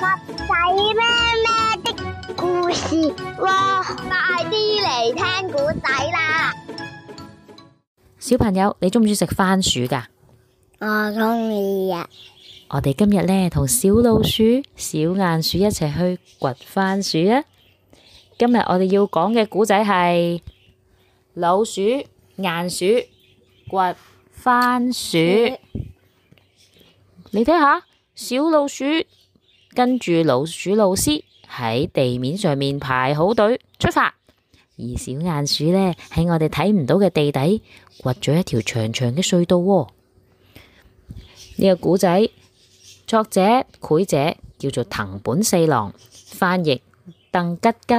仔咩咩的故事喎，快啲嚟聽古仔啦！ 小朋友，你中唔中意食番薯噶？ 我中意啊！ 我哋今日呢，同小老鼠、小鼴鼠一齊去掘番薯啊！今日我哋要講嘅古仔係老鼠、鼴鼠掘番薯。你睇下，小老鼠跟住老鼠老師喺地面上面排好隊出發，而小鼴鼠呢，喺我哋睇唔到嘅地底掘咗一條長長嘅隧道喎。呢個古仔作者繪者叫做藤本四郎，翻譯鄧吉吉。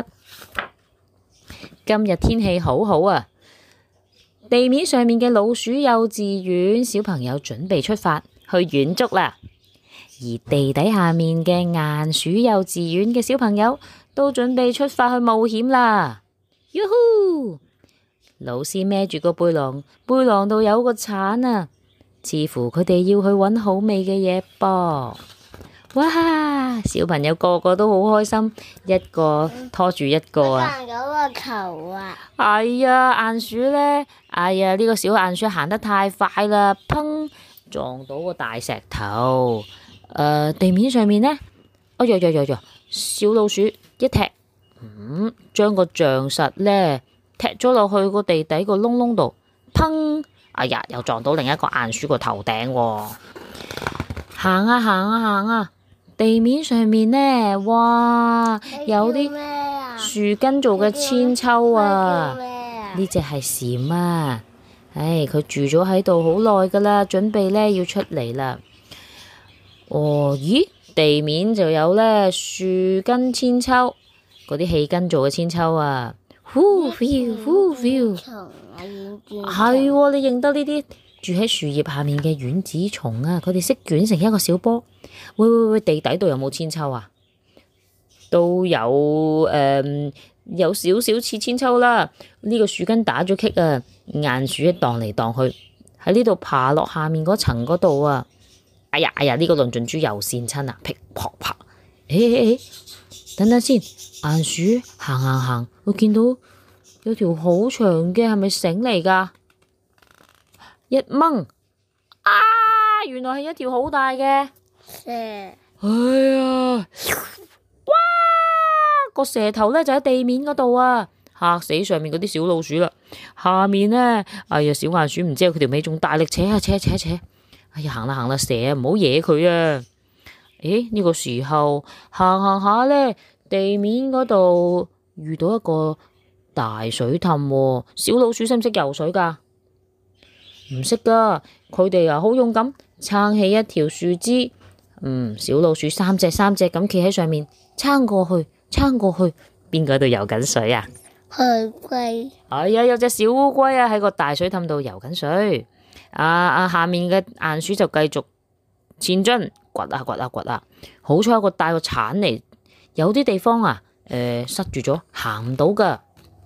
今日天氣好好啊！地面上面嘅老鼠幼稚園小朋友準備出發去遠足啦，而地底下面嘅鼴鼠幼稚園嘅小朋友都準備出發去冒險啦。喲呼！老師孭住個背囊，背囊度有個鏟啊，似乎佢哋要去搵好味嘅嘢噃。哇！小朋友個個都好開心，一個拖住一個啊！ 行嗰個球啊！ 哎呀，鼴鼠呢？哎呀，呢個小鼴鼠行得太快啦，砰！撞到個大石頭。地面上面呢？哎呀呀呀呀！小老鼠一踢，將個橡實呢踢咗落去個地底個窿窿度，砰！哎呀，又撞到另一個鼴鼠個頭頂喎。行啊行啊行啊！地面上面呢，哇，有啲樹根做嘅千秋啊！呢隻係蟬啊，唉，佢住咗喺度好耐噶啦，準備呢要出嚟啦。哦，咦，地面就有呢樹根千秋，嗰啲氣根做嘅千秋啊，呼 feel 呼 feel，係喎，你認得呢啲住喺樹葉下面嘅丸子蟲啊？佢哋識捲成一個小波。喂，地底度有冇千秋啊？都有，有少少似千秋啦。呢個樹根打咗棘啊，鼴鼠一蕩嚟蕩去，喺呢度爬落下面嗰層嗰度啊。哎呀，呢個論盡珠又跣親啊！噼啪啪，等等先，鼴鼠行，我見到有條好長嘅，係咪繩嚟噶？一掹，啊，原來係一條好大嘅蛇。哎呀，哇！個蛇頭呢就喺地面嗰度啊，嚇死上面嗰啲小老鼠啦。下面呢，哎呀，小鼴鼠唔知佢條尾仲大力扯啊扯。哎呀，行啦，蛇啊，唔好惹佢啊！呢個時候行下呢，地面嗰度遇到一個大水凼喎。小老鼠識唔識游水噶？唔識噶，佢哋啊好勇敢，撐起一條樹枝。小老鼠三隻咁企喺上面，撐過去，邊個喺度游緊水啊？ 烏龜。 哎呀，有隻小烏龜啊喺個大水凼度游緊水。下面嘅鼴鼠就繼續前進，掘啊，好彩有個帶個鏟嚟，有啲地方啊，塞住咗，行唔到噶。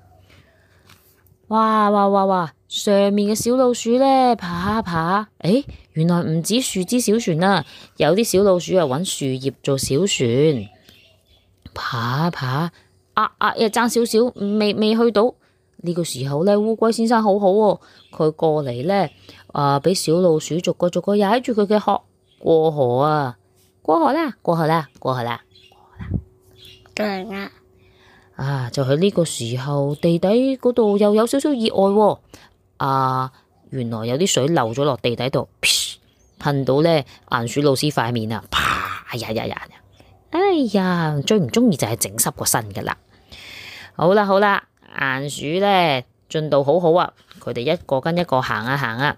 哇！上面嘅小老鼠呢，爬，原來唔止樹枝小船啊，有啲小老鼠啊揾樹葉做小船，爬，爭少少，未去到。呢個時候呢，烏龜先生好好喎，佢過嚟呢，俾小老鼠逐個踩住佢嘅殼過河啊！過河啦！就喺呢個時候，地底嗰度又有少少意外喎。原來有啲水漏咗落地底度，噴到呢鼴鼠老師塊面啊！啪！哎呀，最唔中意就係整濕個身噶啦。好啦，鼴鼠呢進度好好啊，佢哋一個跟一個行啊。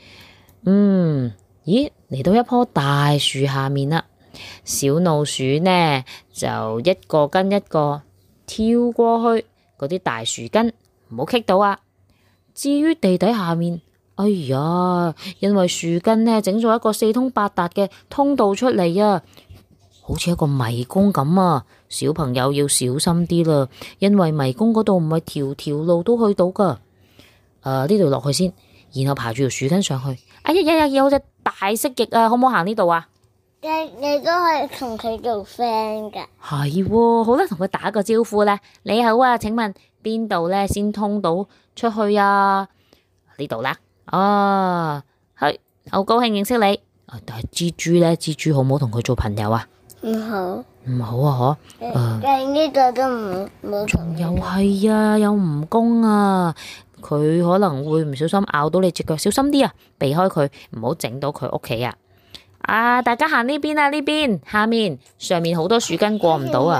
咦，嚟到一棵大樹下面啦，小老鼠呢就一個跟一個跳過去嗰啲大樹根，唔好棘到啊。至於地底下面，哎呀，因為樹根呢整咗一個四通八達嘅通道出嚟啊，好似一個迷宮咁啊。小朋友要小心啲啦，因為迷宮嗰度唔係條路都去到噶。呢度落去先，然後爬住條樹根上去。哎呀，有隻大蜥蜴啊，可唔可以行呢度啊？ 你都可以同佢做 friend 噶。 係喎，好啦，同佢打個招呼啦。你好啊，請問邊度咧先通到出去啊？呢度啦。哦，係，好高興認識你。但係蜘蛛咧，蜘蛛好唔好同佢做朋友啊？ 唔好。 唔好啊， 但呢度都冇同。 又係啊，有蜈蚣啊，佢可能會唔小心咬到你隻腳，小心啲啊，避開佢，唔好整到佢屋企啊。大家行呢邊啊，呢邊下面上面好多樹根過唔到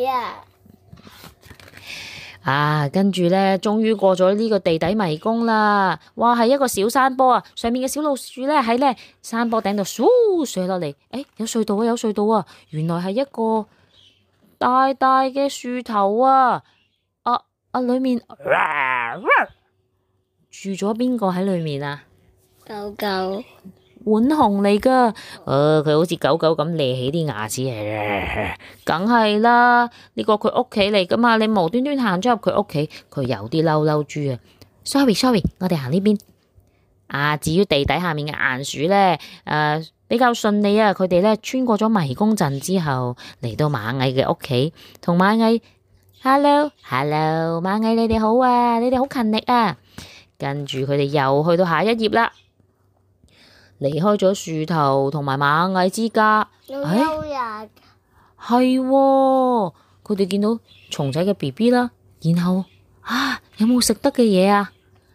啊！跟住咧，終於過咗呢個地底迷宮啦！哇，係一個小山坡啊！上面嘅小老鼠咧喺咧山坡頂度嗖射落嚟，有隧道啊，有隧道啊！原來係一個大大嘅樹頭啊！裏面住咗邊個喺裏面啊？ 狗狗。 浣熊嚟噶，佢好似狗狗咁咧起啲牙齒，梗係啦，呢個佢屋企嚟噶嘛，你無端端行咗入佢屋企，佢有啲嬲豬啊。Sorry， 我哋行呢邊。至於地底下面嘅鼴鼠咧，比較順利啊，佢哋咧穿過咗迷宮陣之後，嚟到螞蟻嘅屋企，同螞蟻 Hello， 螞蟻你哋好啊，你哋好勤力啊。跟住佢哋又去到下一頁啦。離開咗樹頭同埋螞蟻之家，係喎，佢哋見到蟲仔嘅 BB 啦，然後有冇食得嘅嘢啊？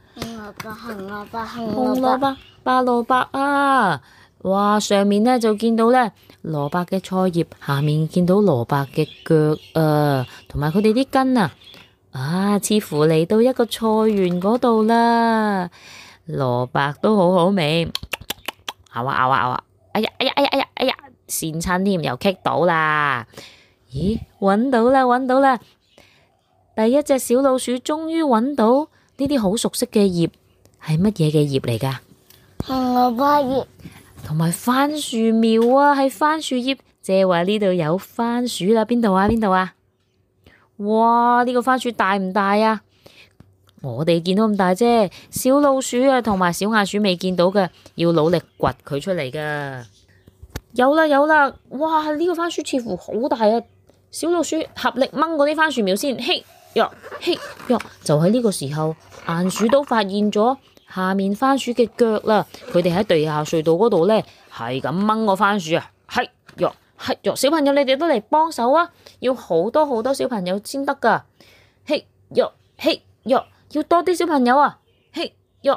紅蘿蔔、白蘿蔔啊！哇，上面咧就見到咧蘿蔔嘅菜葉，下面見到蘿蔔嘅腳啊，同埋佢哋啲根啊，似乎嚟到一個菜園嗰度啦。蘿蔔都好好味。咬啊！哎呀！跣親添，又棘到啦！咦，搵到啦！第一隻小老鼠終於搵到呢啲好熟悉嘅葉，係乜嘢嘅葉嚟噶？紅蘿蔔葉，同埋番薯苗啊，係番薯葉。即係話呢度有番薯啦，邊度啊？哇，呢個番薯大唔大啊？我哋見到咁大啫，小老鼠啊同埋小鼴鼠未見到嘅，要努力掘佢出嚟噶。有啦！哇，呢個番薯似乎好大啊！小老鼠合力掹嗰啲番薯苗先，嘿喲，就喺呢個時候，鼴鼠都發現咗下面番薯嘅腳啦。佢哋喺地下隧道嗰度咧，係咁掹個番薯啊，嘿喲，小朋友你哋都嚟幫手啊！要好多小朋友先得噶，嘿喲，要多啲小朋友啊！嘿喲，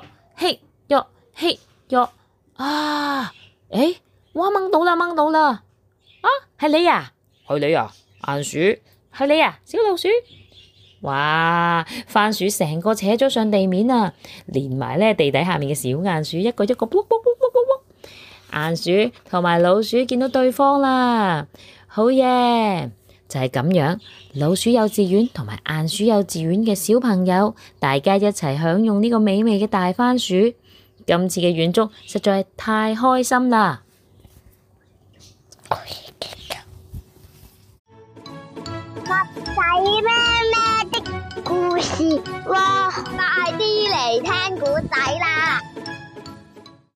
哇，掹到啦！係你啊，鼴鼠，係你啊，小老鼠。哇，番薯成個扯咗上地面啊，連埋咧地底下面嘅小鼴鼠，一個一個卜。鼴鼠同埋老鼠見到對方啦，好嘢！就係咁樣，老鼠幼稚園同埋鼴鼠幼稚園嘅小朋友，大家一齊享用呢個美味嘅大番薯。今次嘅遠足實在係太開心啦！ 襪仔咩的故事，哇！快啲嚟聽故仔啦！